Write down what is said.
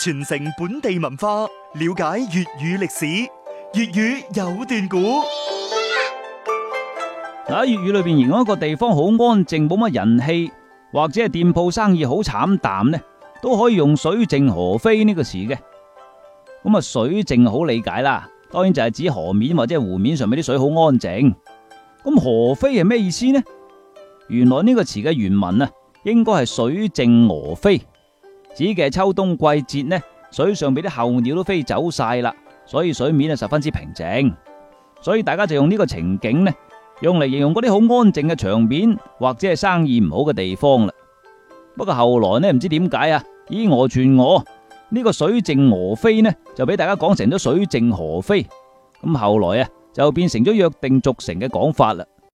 傳承本地文化，了解粵語歷史。粵語有段古。 喺粵語裏邊，形容一個地方好安靜，冇乜人氣，或者係店鋪生意好慘淡呢，都可以用水靜河飛呢個詞嘅。咁啊，水靜好理解啦，當然就係指河面或者係湖面上面啲水好安靜。咁河飛係咩意思呢？原來呢個詞嘅原文啊，應該係水靜鵝飛，指嘅係秋冬季節呢，水上邊啲候鳥都飛走晒啦，所以水面啊十分之平靜，所以大家就用呢個情景呢，用嚟形容嗰啲好安靜嘅場面或者係生意唔好嘅地方啦。不過後來呢，唔知點解啊，以訛傳訛，呢個水靜鵝飛呢就俾大家講成咗水靜河飛，咁後來啊就變成咗約定俗成嘅講法啦。